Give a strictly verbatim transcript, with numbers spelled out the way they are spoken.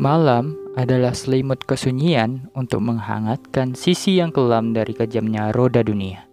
Malam adalah selimut kesunyian untuk menghangatkan sisi yang kelam dari kejamnya roda dunia.